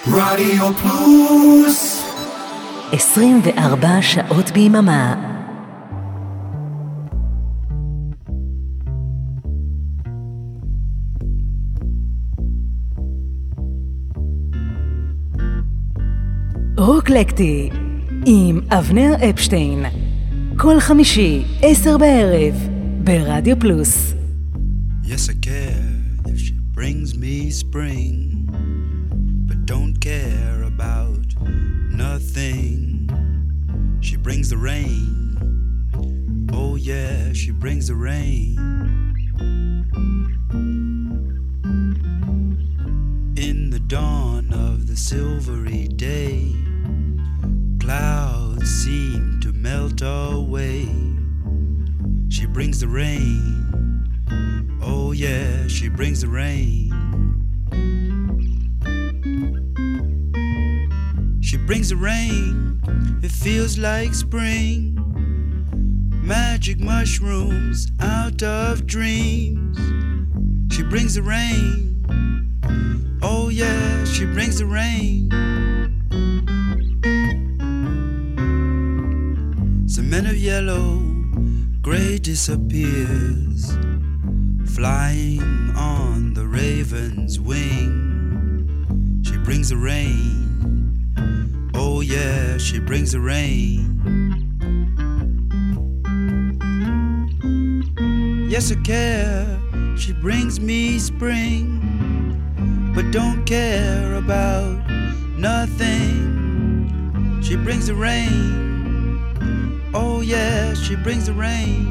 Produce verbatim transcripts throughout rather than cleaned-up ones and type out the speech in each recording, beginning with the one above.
רדיו פלוס עשרים וארבע שעות ביממה. רוקלקטי עם אבנר אפשטיין, כל חמישי עשר בערב ברדיו פלוס. Yes, I care if she brings me spring, but don't care about nothing. She brings the rain. Oh yeah, she brings the rain. In the dawn of the silvery day, clouds seem to melt away. She brings the rain. Oh yeah, she brings the rain. She brings the rain. It feels like spring. Magic mushrooms out of dreams. She brings the rain. Oh yeah, she brings the rain. Cement of yellow, gray disappears, flying on the raven's wing. She brings the rain. Oh yeah, she brings the rain. Yes, I care. She brings me spring, but don't care about nothing. She brings the rain. Oh yeah, she brings the rain.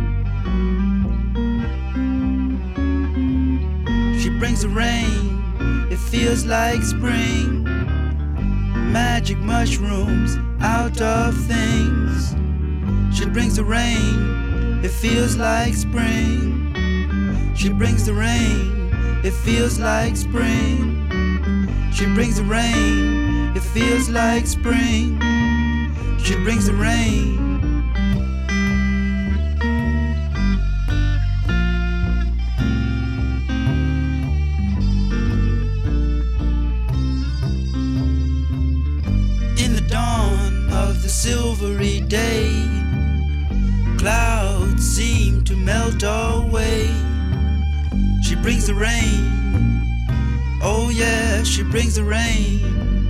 She brings the rain. It feels like spring. Magic mushrooms out of things. She brings the rain. It feels like spring. She brings the rain. It feels like spring. She brings the rain. It feels like spring. She brings the rain. In the dawn of the silvery day, clouds seem to melt away. She brings the rain. Oh yeah, she brings the rain.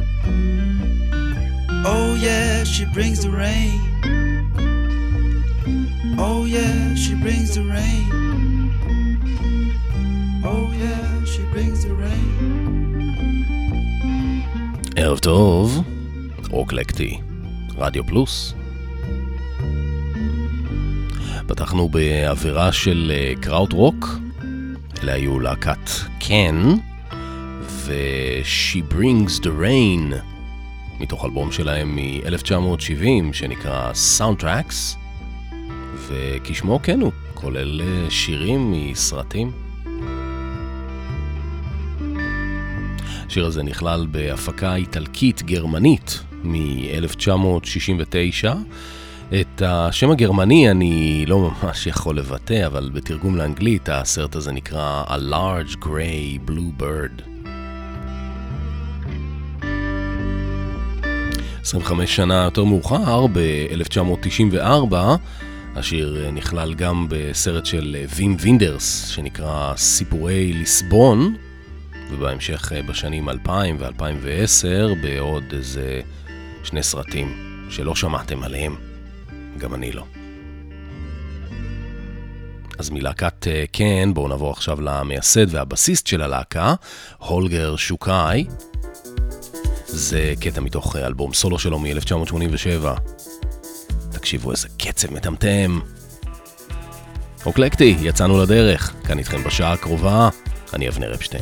Oh yeah, she brings the rain. Oh yeah, she brings the rain. Oh yeah, she brings the rain. ערב טוב, רוקלקטי, רדיו פלוס. פתחנו באווירה של קראוט רוק. אלה היו להקת קן ו-She Brings the Rain מתוך אלבום שלהם מ-אלף תשע מאות שבעים שנקרא Soundtracks, וכשמו כן הוא כולל שירים מסרטים. השיר הזה נכלל בהפקה איטלקית גרמנית מ-אלף תשע מאות שישים ותשע. את השם הגרמני אני לא ממש יכול לבטא, אבל בתרגום לאנגלית הסרט הזה נקרא A Large Grey Blue Bird. עשרים וחמש שנה יותר מאוחר, ב-אלף תשע מאות תשעים וארבע, השיר נכלל גם בסרט של וים וינדרס שנקרא סיפורי ליסבון, ובהמשך בשנים אלפיים ו-אלפיים ועשר בעוד איזה שני סרטים שלא שמעתם עליהם. גם אני לא. אז מלהקת קן, בואו נעבור עכשיו למייסד והבסיסט של הלהקה, הולגר שוקאי. זה קטע מתוך אלבום סולו שלו מ-אלף תשע מאות שמונים ושבע. תקשיבו איזה קצב מטמטם. רוקלקטי, יצאנו לדרך. כאן איתכם בשעה הקרובה. אני אבנר אפשטיין.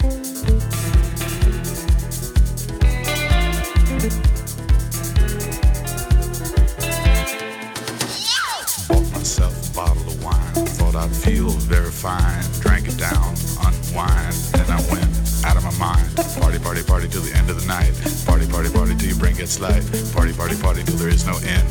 I'd feel very fine, drank it down, unwind, and I went out of my mind. Party, party, party till the end of the night. Party, party, party till your brain gets light. Party, party, party till there is no end.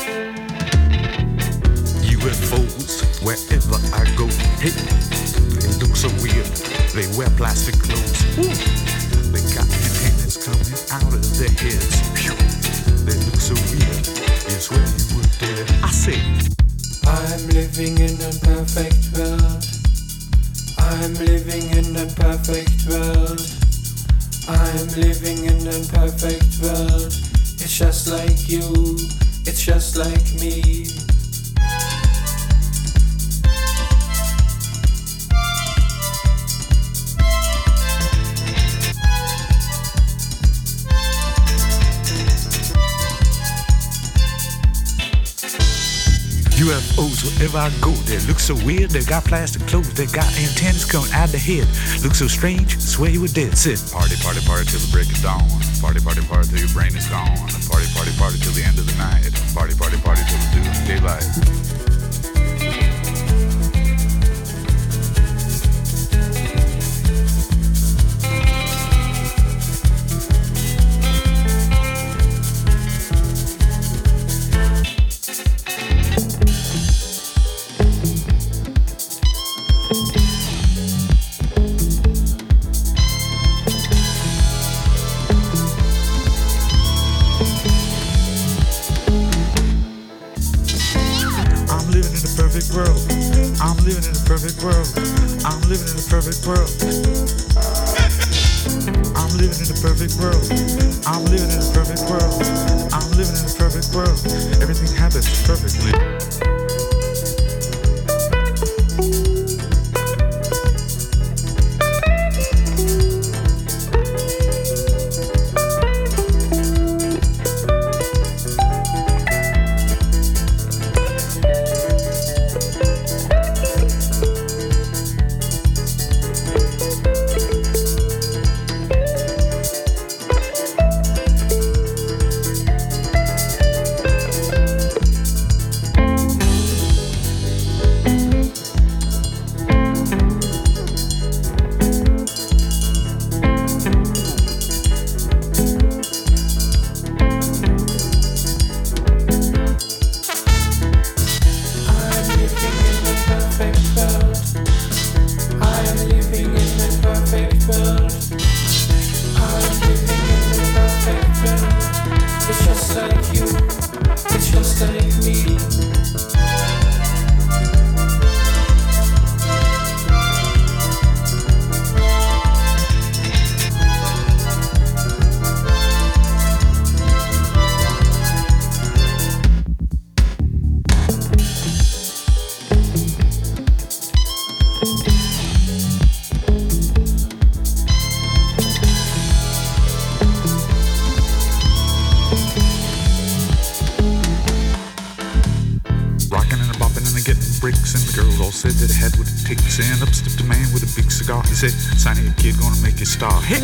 U F Os wherever I go. Hey, look so weird. They wear plastic clothes. Ooh. They got antennas coming out of their heads. Phew. They look so weird. It's where you were dead. I say, I'm living in a perfect world. I'm living in a perfect world. I'm living in a perfect world. It's just like you. It's just like me. U F Os, wherever I go, they look so weird. They got plastic clothes, they got antennas coming out of their head. Look so strange, swear you were dead. Sit. Party, party, party till the break of dawn. Party, party, party till your brain is gone. Party, party, party till the end of the night. Party, party, party till the due daylight. World. I'm living in a perfect world. I'm living in a perfect world. I'm living in a perfect world. I'm living in a perfect world. I'm living in a perfect world. Everything happens perfectly. Said that I had what it takes, and up stepped a man with a big cigar. He said, "Sonny, a kid gonna make you star." Hey!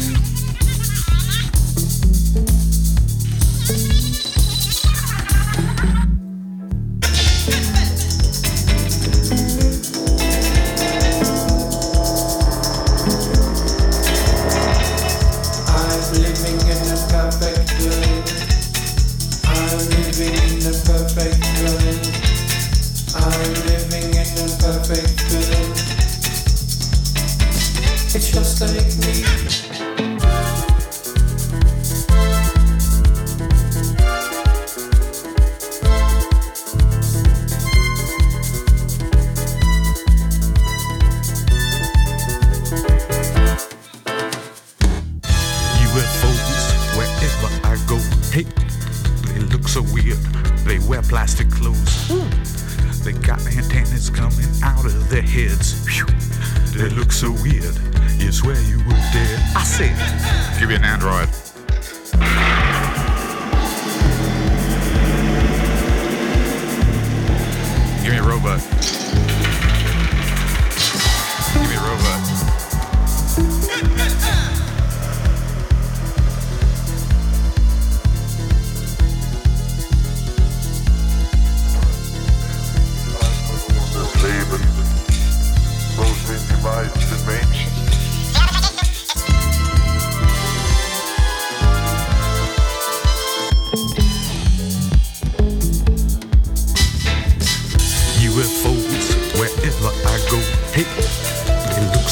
I'm living in a perfect world. I'm living in a perfect world. I'm living in a perfect world. It's just like me. U F Os, wherever I go, hey, they look so weird. They wear plastic clothes. Ooh. They got antennas coming out of their heads. Phew. They look so weird. You swear you were dead. I said, give you an Android. Give me a robot. Give me a robot. U F Os,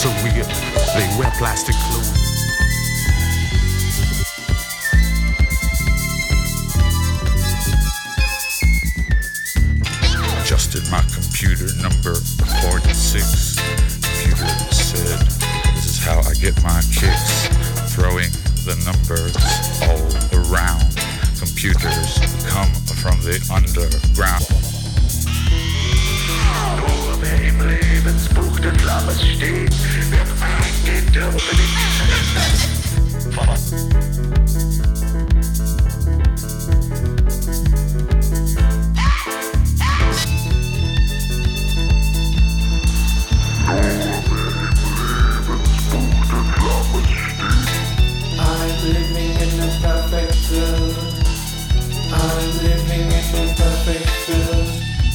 so weird. They wear plastic clothes. Adjusted my computer number forty-six. Computer said, this is how I get my kicks. Throwing the numbers all around. Computers come from the underground. Nur wer im Lebensbuch des Lammes steht, wird eingehen dürfen in I'm living in a perfect world. I'm living in a perfect world.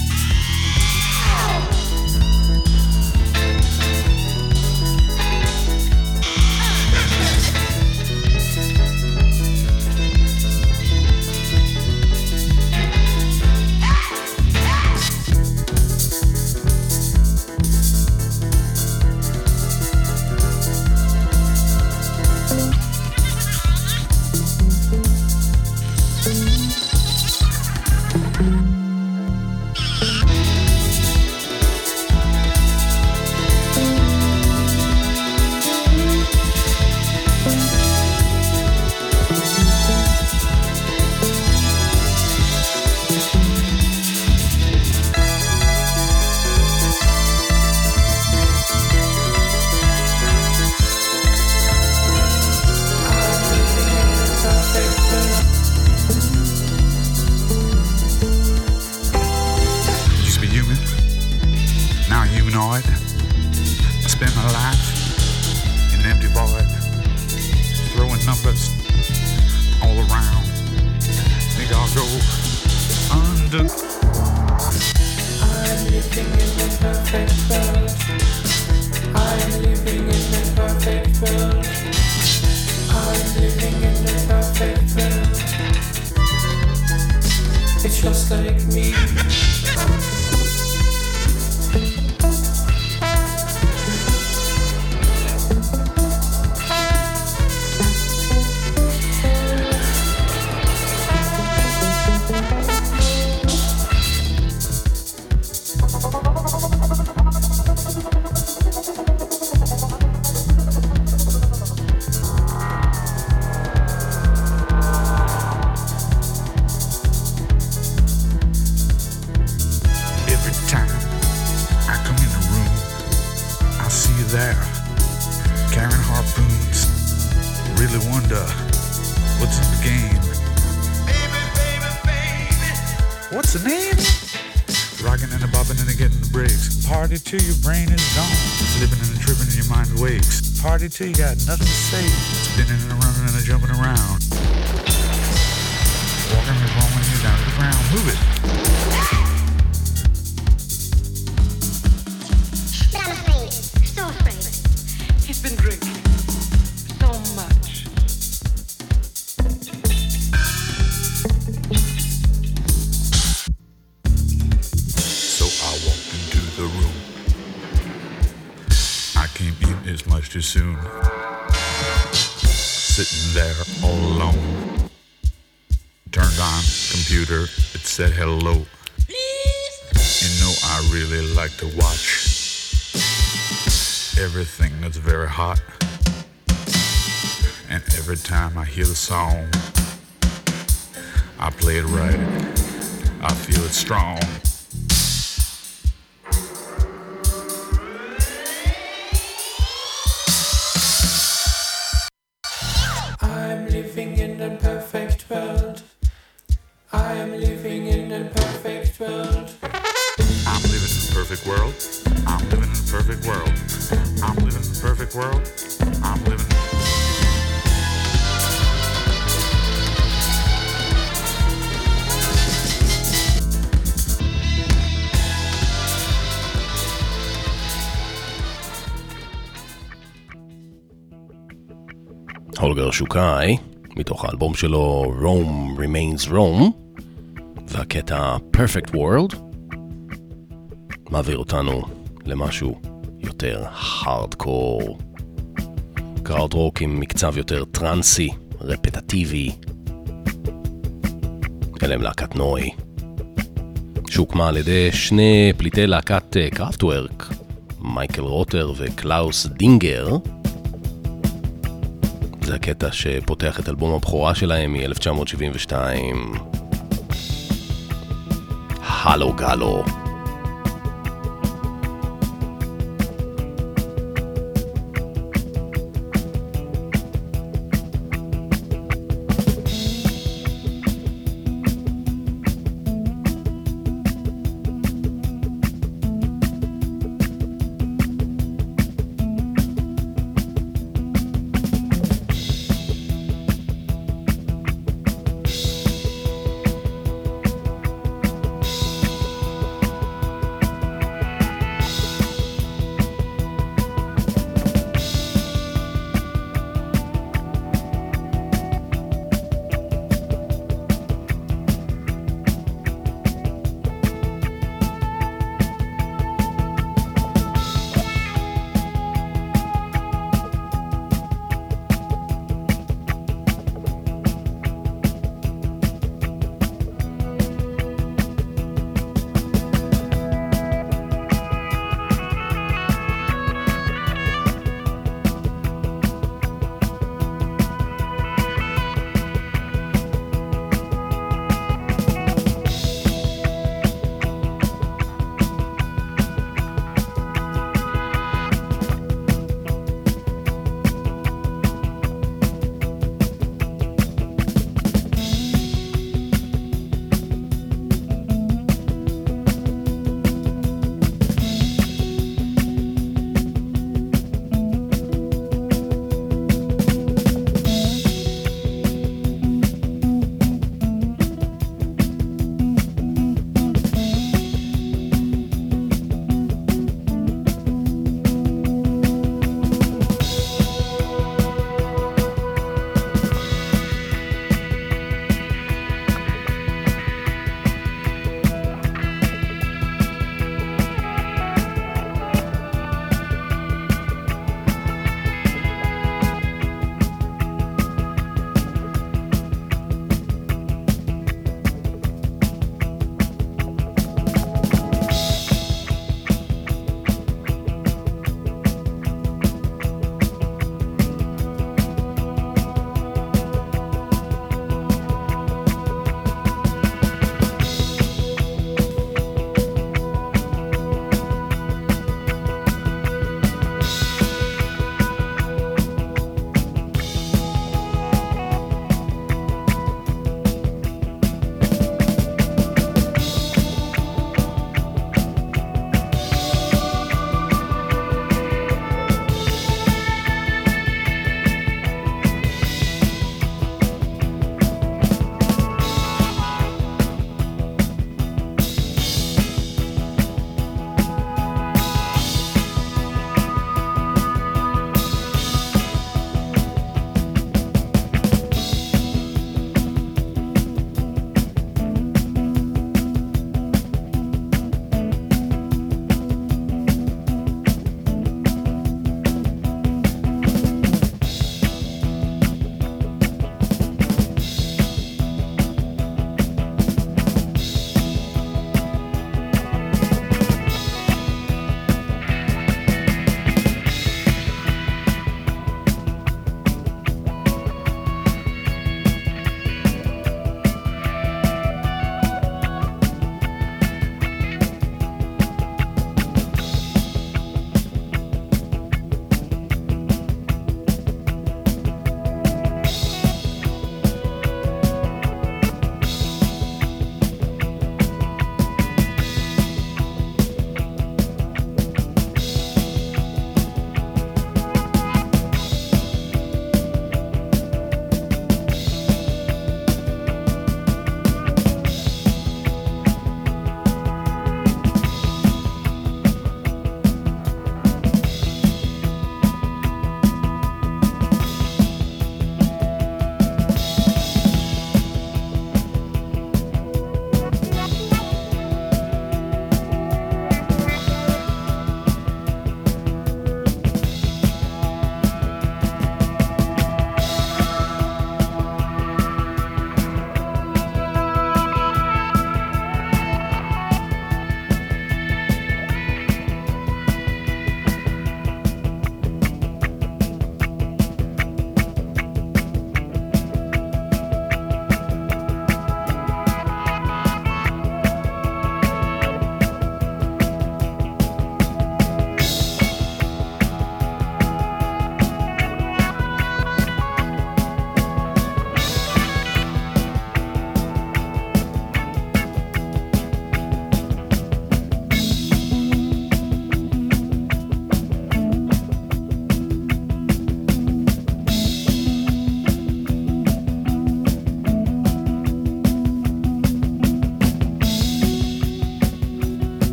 Till your brain is gone. Living and tripping and your mind wakes. Party till you got nothing to say. Spinning and running and jumping around. Walking and rolling you down to the ground. Move it. But I'm afraid. So afraid. He's been drinking so much. So I walked into the room. Came in as much too soon. Sitting there all alone. Turned on computer, it said hello. You know I really like to watch everything that's very hot. And every time I hear the song, I play it right. I feel it strong. Living in a perfect world. I am living in a perfect world. I'm living in a perfect world. I'm living in a perfect world. I'm living in a perfect world. I'm living. הולגר שוקאי, מתוך האלבום שלו Rome Remains Rome, והקטע Perfect World מעביר אותנו למשהו יותר יותר הארדקור. קראוט-רוק עם מקצב יותר טרנסי, רפטטיבי. אלה הם להקת נוי, שהוקמה על ידי שני פליטי להקת קראפטוורק, מייקל רוטר וקלאוס דינגר. זה הקטע שפותח את אלבום הבכורה שלהם מ-אלף תשע מאות שבעים ושתיים, הלו גלו.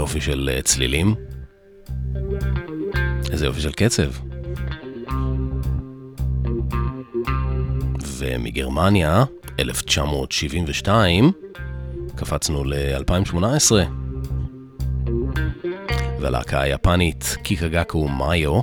יופי של צלילים. איזה יופי של קצב. ומגרמניה, אלף תשע מאות שבעים ושתיים, קפצנו ל-אלפיים שמונה עשרה. והלהקה היפנית קיקגקו מאיו,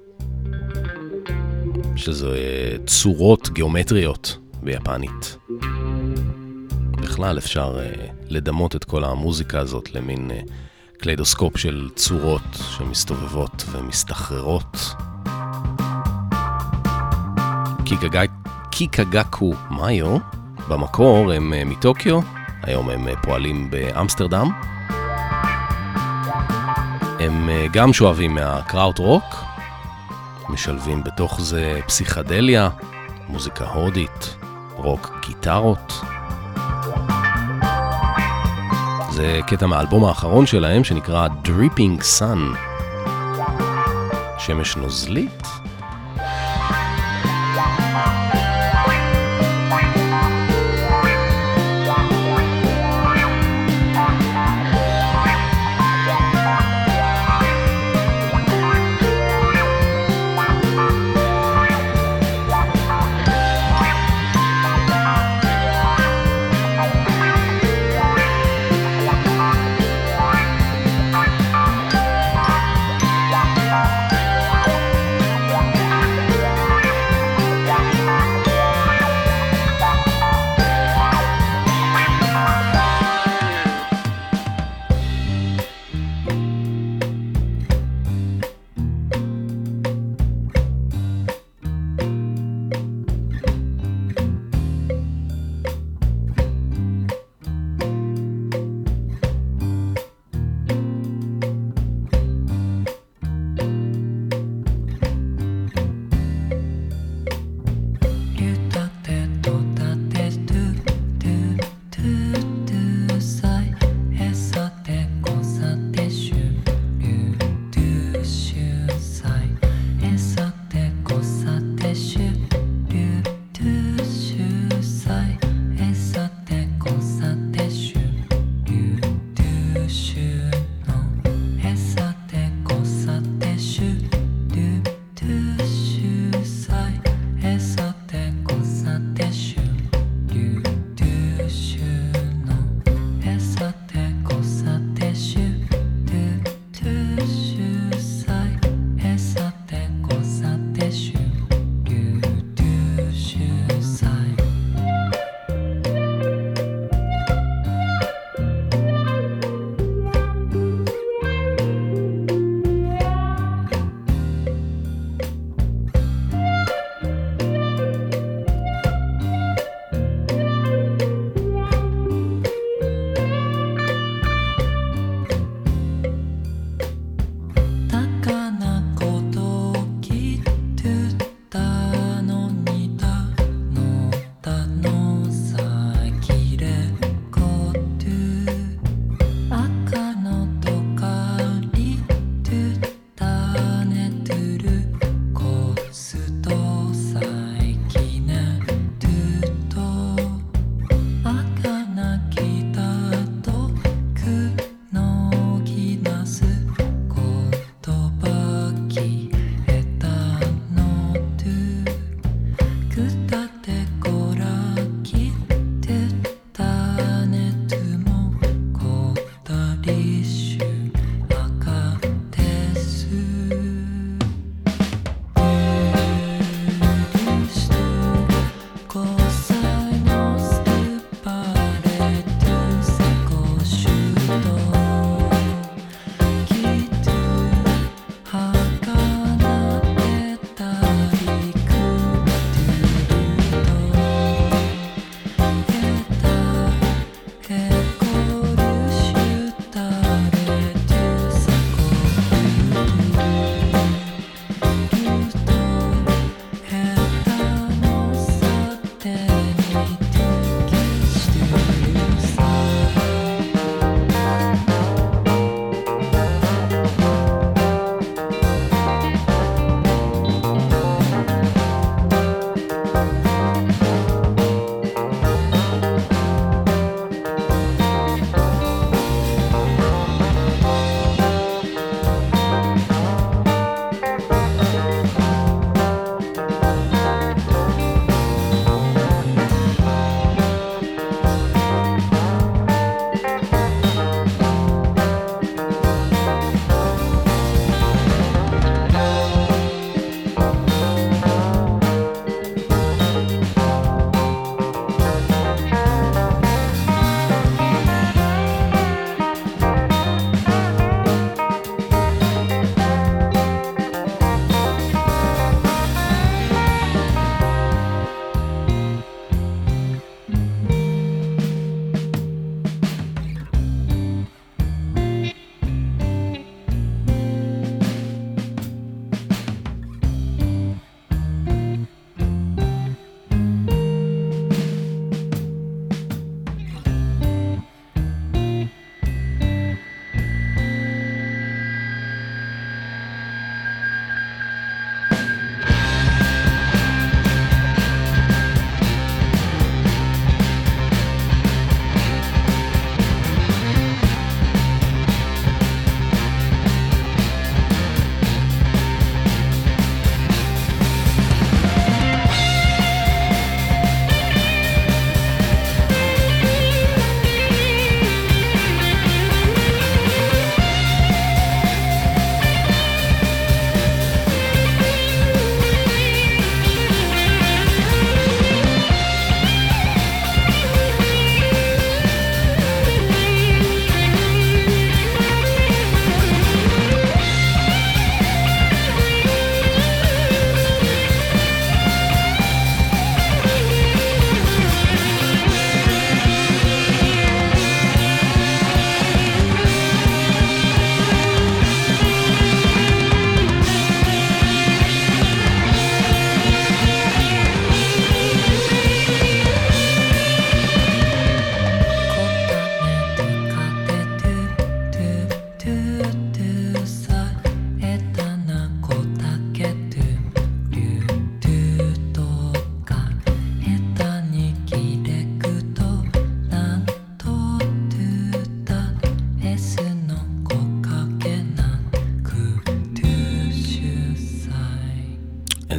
שזה צורות גיאומטריות ביפנית. בכלל אפשר לדמות את כל המוזיקה הזאת למין קליידוסקופ של צורות שמסתובבות ומסתחררות. קיקגקו מאיו, במקור הם מטוקיו, היום הם פועלים באמסטרדם. הם גם שואבים מהקראוט רוק, משלבים בתוך זה פסיכדליה, מוזיקה הודית, רוק גיטרות. זה קטע מהאלבום האחרון שלהם שנקרא Dripping Sun, שמש נוזלית.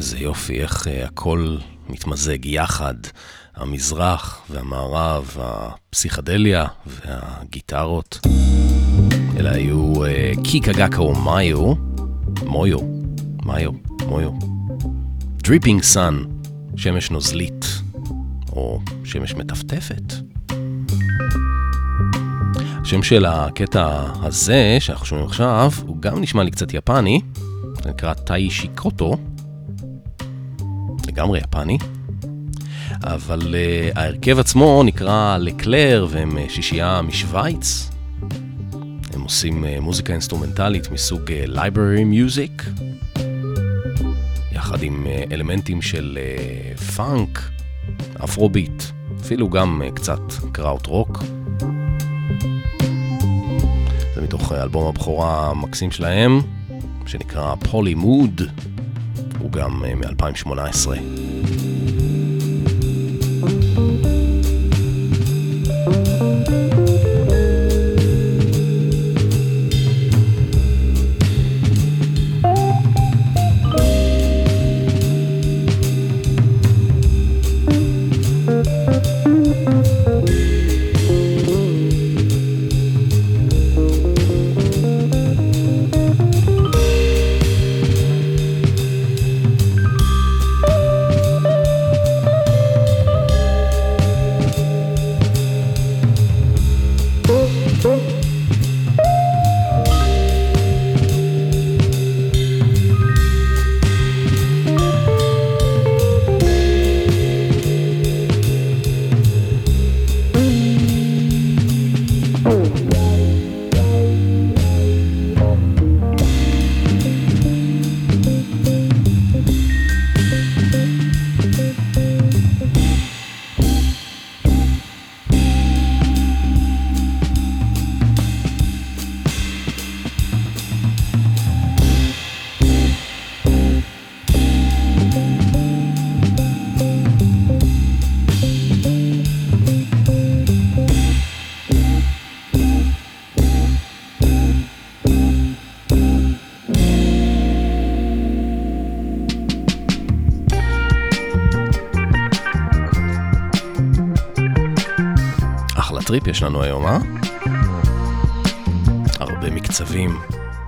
איזה יופי, איך הכל מתמזג יחד, המזרח והמערב, הפסיכדליה והגיטרות. אלה היו קיקה גקה או מאיו, מויו, מאיו, מויו. Dripping Sun, שמש נוזלית, או שמש מטפטפת. השם של הקטע הזה, שאנחנו שומעים עכשיו, הוא גם נשמע לי קצת יפני, זה נקרא טאי שיקוטו, לגמרי יפני, אבל uh, ההרכב עצמו נקרא לקלר, והם uh, שישייה משוויץ. הם עושים uh, מוזיקה אינסטרומנטלית מסוג uh, library music, יחד עם uh, אלמנטים של uh, פאנק, אפרוביט, אפילו גם uh, קצת קראוט רוק. זה מתוך uh, אלבום הבכורה המקסים שלהם, שנקרא פולי מוד, הוא גם uh, מ-אלפיים שמונה עשרה. טריפ יש לנו היום, אה? הרבה מקצבים.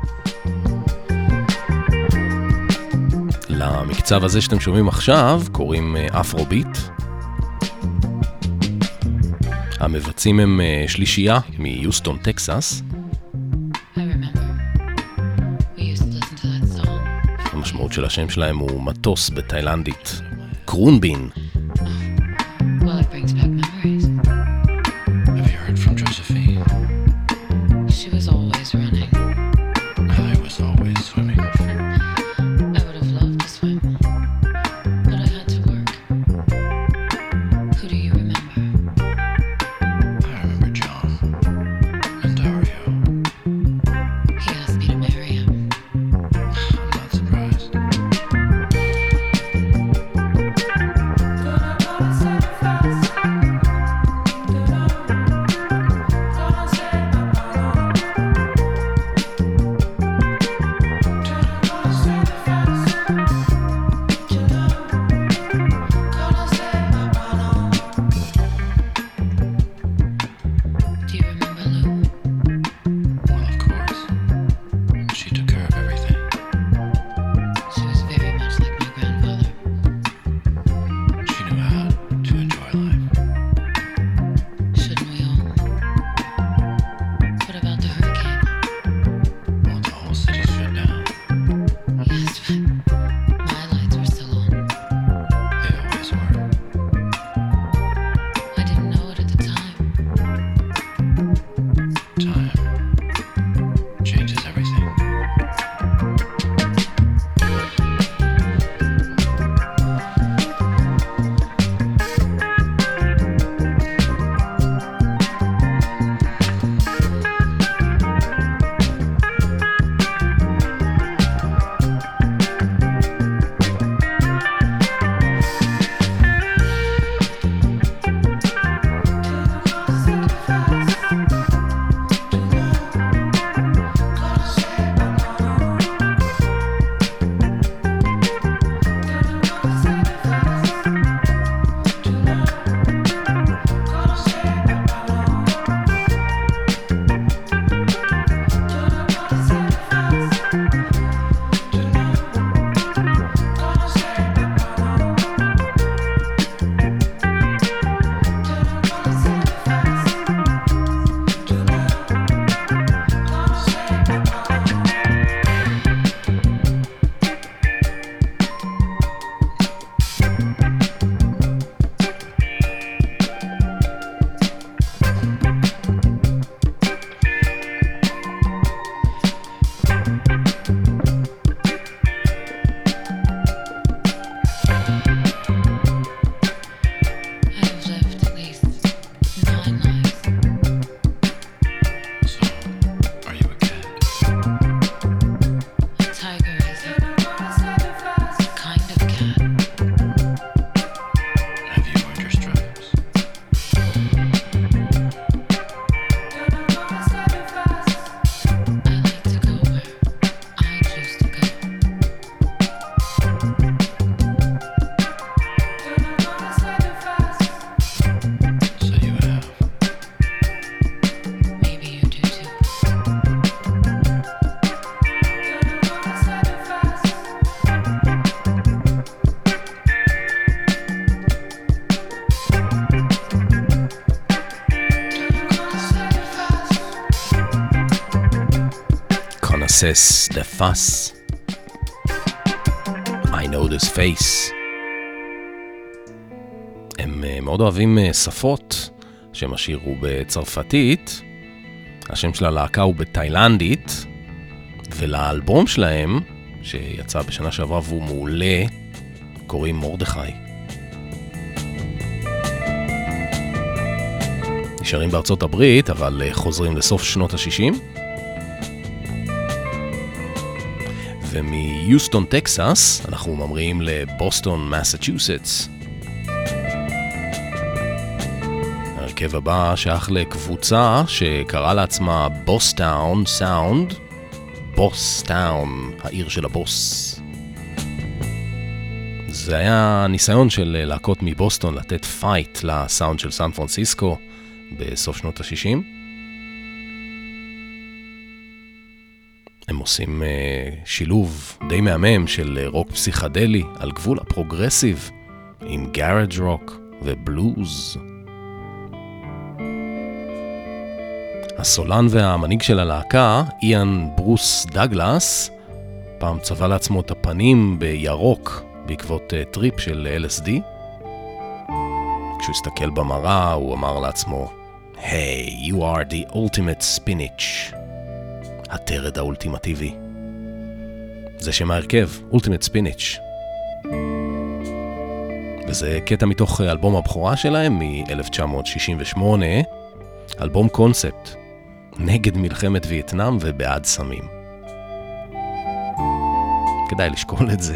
למקצב הזה שאתם שומעים עכשיו קוראים אפרוביט. המבצעים הם שלישייה מיוסטון, טקסס. המשמעות של השם שלהם הוא מטוס בתאילנדית, קרונבין. Excess the Fuss. I know this face. הם מאוד אוהבים שפות, שם השיר הוא בצרפתית, השם של הלהקה הוא בתאילנדית, ולאלבום שלהם, שיצא בשנה שעברה והוא מעולה, קוראים מורדכי. נשארים בארצות הברית, אבל חוזרים לסוף שנות ה-שישים. ומיוסטון, טקסס, אנחנו ממריאים לבוסטון, מסצ'וסטס. ההרכב הבא שייך לקבוצה שקראה לעצמה בוסטאון סאונד, בוסטאון, העיר של הבוס. זה היה ניסיון של להקות מבוסטון לתת פייט לסאונד של סן פרנסיסקו בסוף שנות ה-שישים. הם עושים uh, שילוב די מהמם של uh, רוק פסיכדלי על גבול הפרוגרסיב עם גאראג' רוק ובלוז. הסולן והמנהיג של הלהקה, איאן ברוס דגלס, פעם צבע לעצמו את הפנים בירוק בעקבות uh, טריפ של אל אס די. כשהוא הסתכל במראה הוא אמר לעצמו, Hey, you are the ultimate spinach. הטרד האולטימטיבי. זה שם ההרכב, Ultimate Spinach. וזה קטע מתוך אלבום הבכורה שלהם מ-אלף תשע מאות שישים ושמונה, אלבום קונספט, נגד מלחמת וייטנאם ובעד סמים. כדאי לשקול את זה.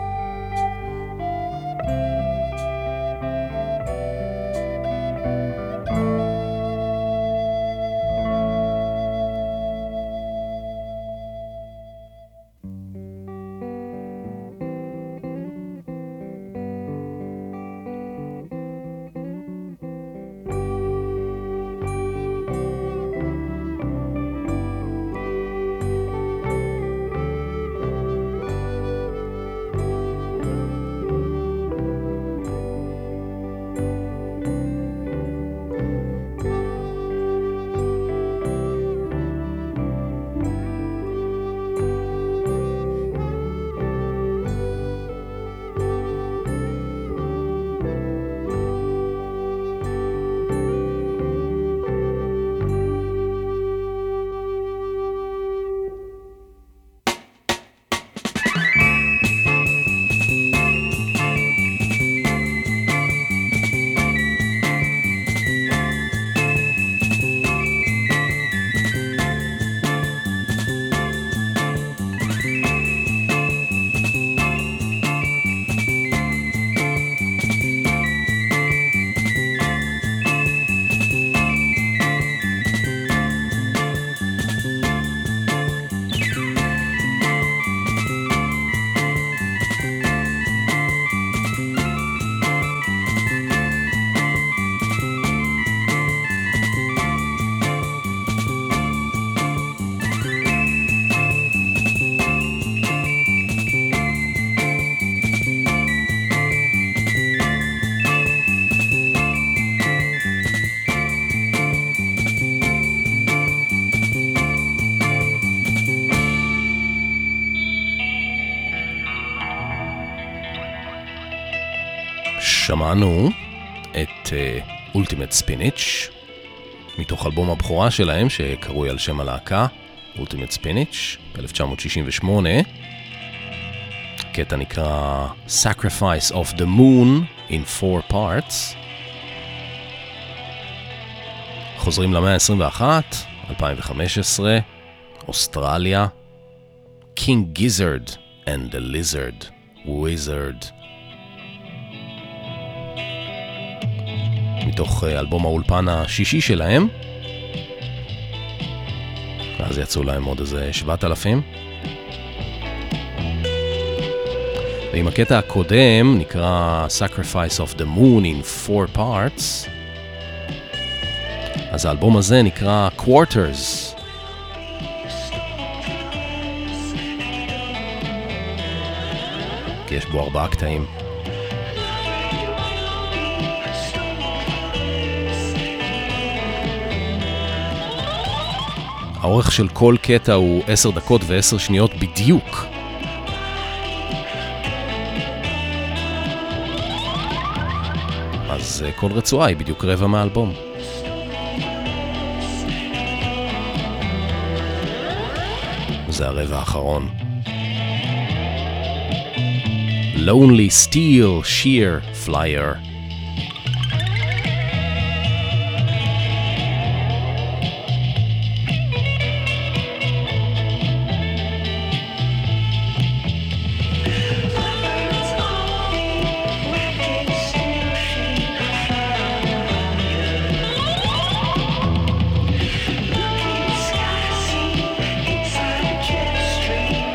שמענו את uh, Ultimate Spinach מתוך אלבום הבכורה שלהם שקרוי על שם הלהקה Ultimate Spinach ב-אלף תשע מאות שישים ושמונה. קטע נקרא Sacrifice of the Moon in Four Parts. חוזרים למאה ה-עשרים ואחת, אלפיים וחמש עשרה, אוסטרליה, King Gizzard and the Lizard Wizard. מתוך אלבום האולפן השישי שלהם, ואז יצאו להם עוד איזה שבעת אלפים. ועם הקטע הקודם נקרא Sacrifice of the Moon in Four Parts, אז האלבום הזה נקרא Quarters. כי יש בו ארבעה קטעים. האורך של כל קטע הוא עשר דקות ועשר שניות בדיוק. אז כל רצועה היא בדיוק רבע מהאלבום. זה הרבע האחרון. Lonely Steel Sheer Flyer.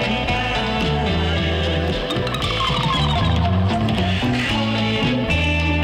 Thank you.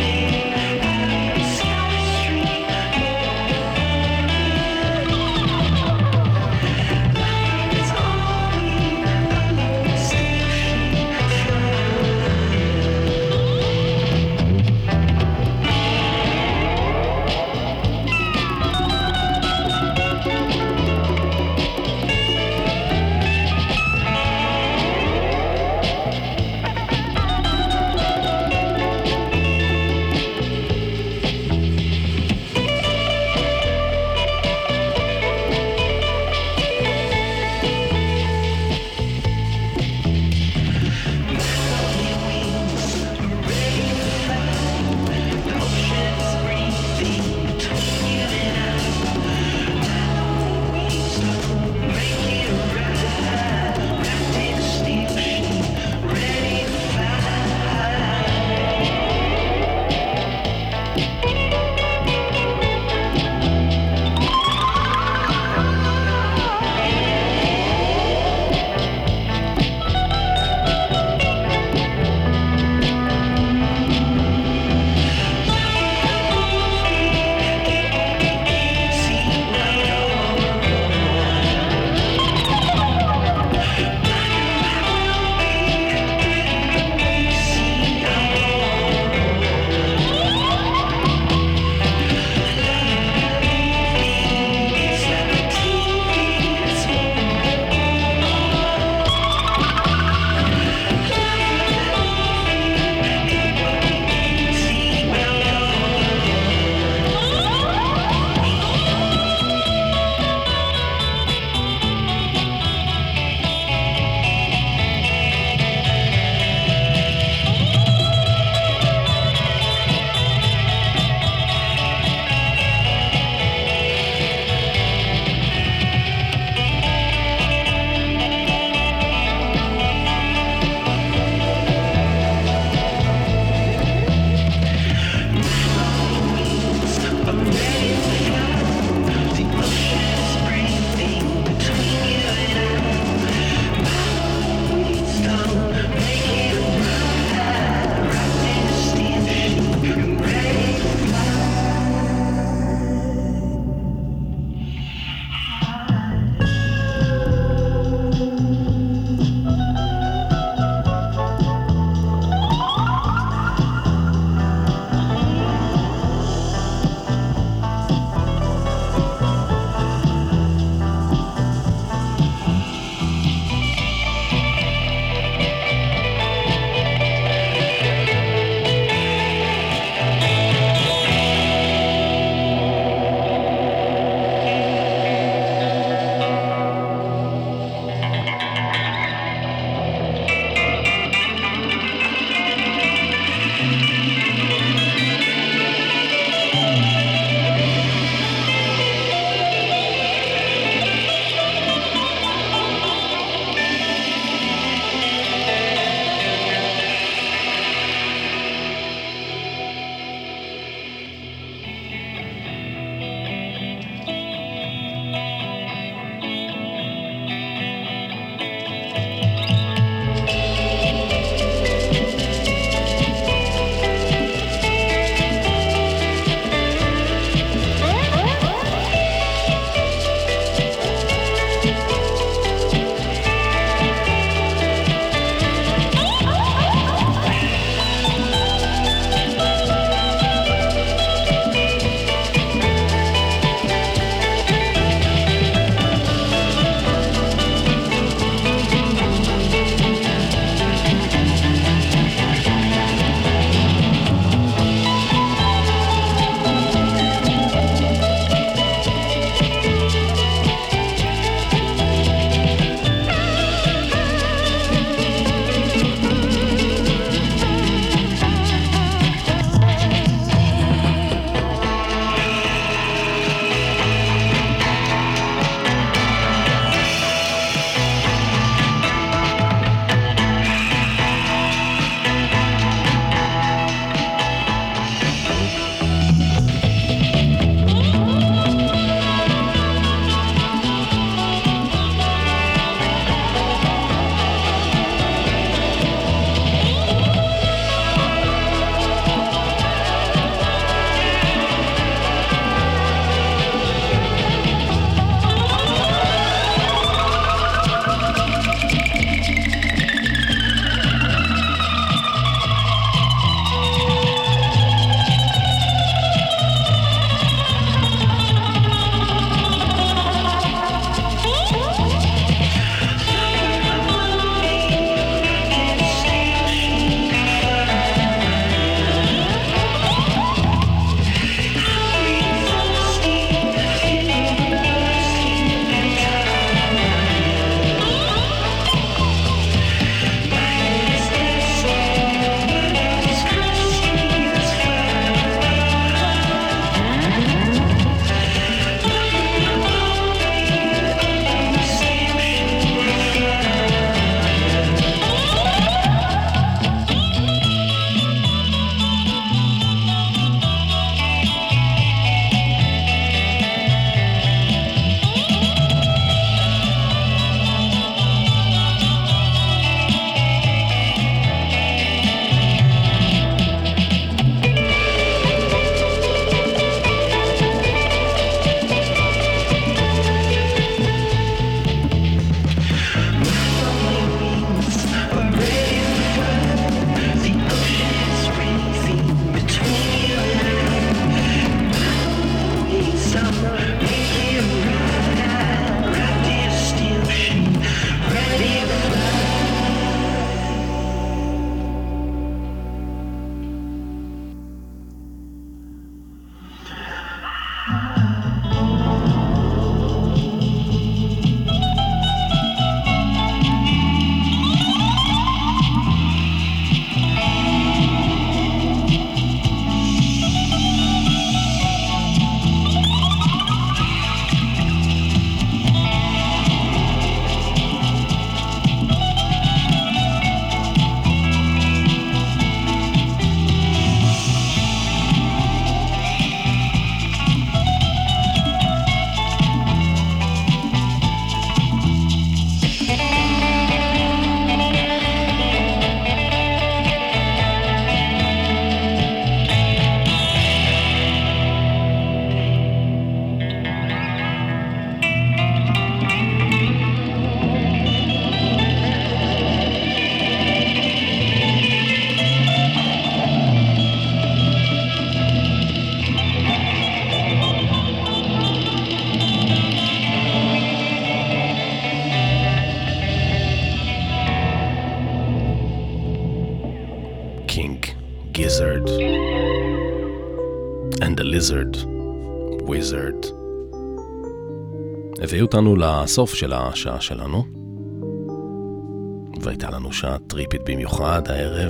Wizard. Wizard. הביאו אותנו לסוף של השעה שלנו, והייתה לנו שעה טריפית במיוחד הערב.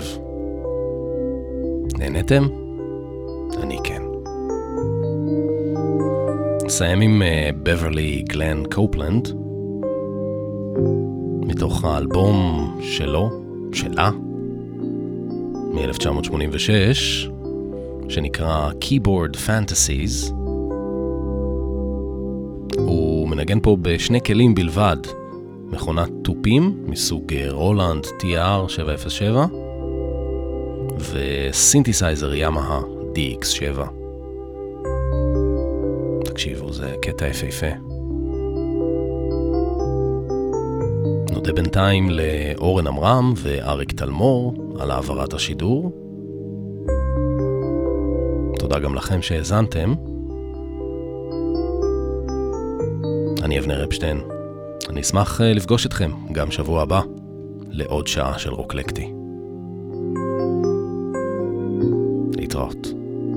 נהנתם? אני כן. נסיים עם בברלי גלן קופלנד, מתוך האלבום שלו, שלה, מ-אלף תשע מאות שמונים ושש, שנקרא Keyboard Fantasies. הוא מנגן פה בשני כלים בלבד, מכונת טופים מסוג רולנד טי אר שבע אפס שבע וסינתסייזר ימאה די אקס שבע. תקשיבו, זה קטע יפהפה. נודה בינתיים לאורן אמרם ואריק תלמור על העברת השידור. תודה גם לכם שהאזנתם. אני אבנר אפשטיין. אני אשמח לפגוש אתכם גם שבוע הבא לעוד שעה של רוקלקטי. להתראות.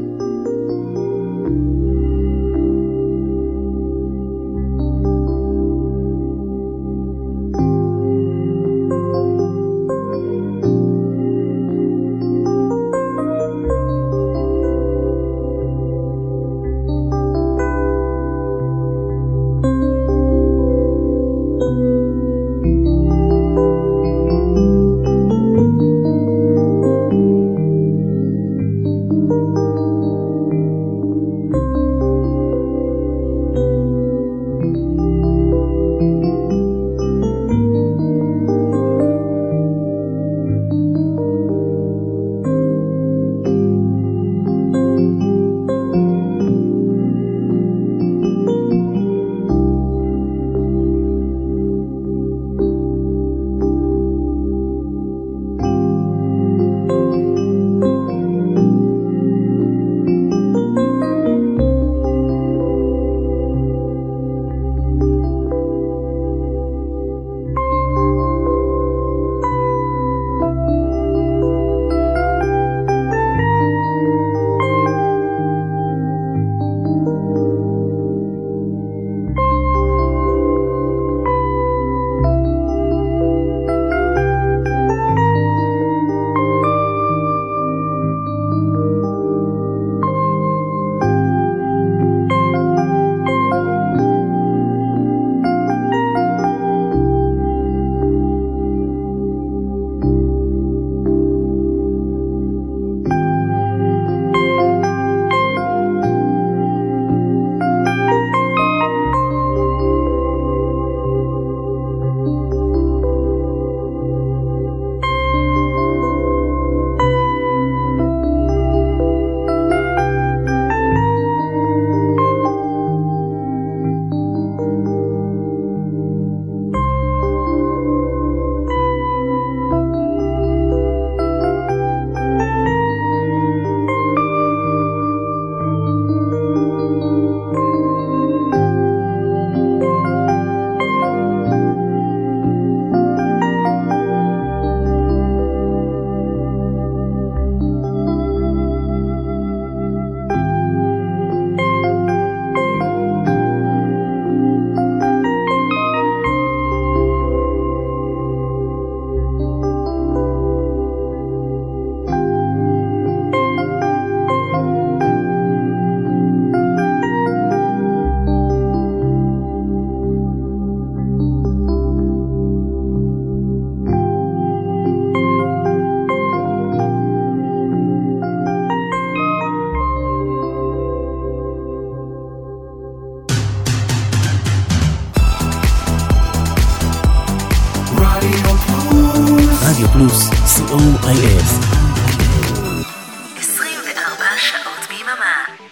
רדיו פלוס, סי או איי אס. עשרים וארבע שעות ביממה.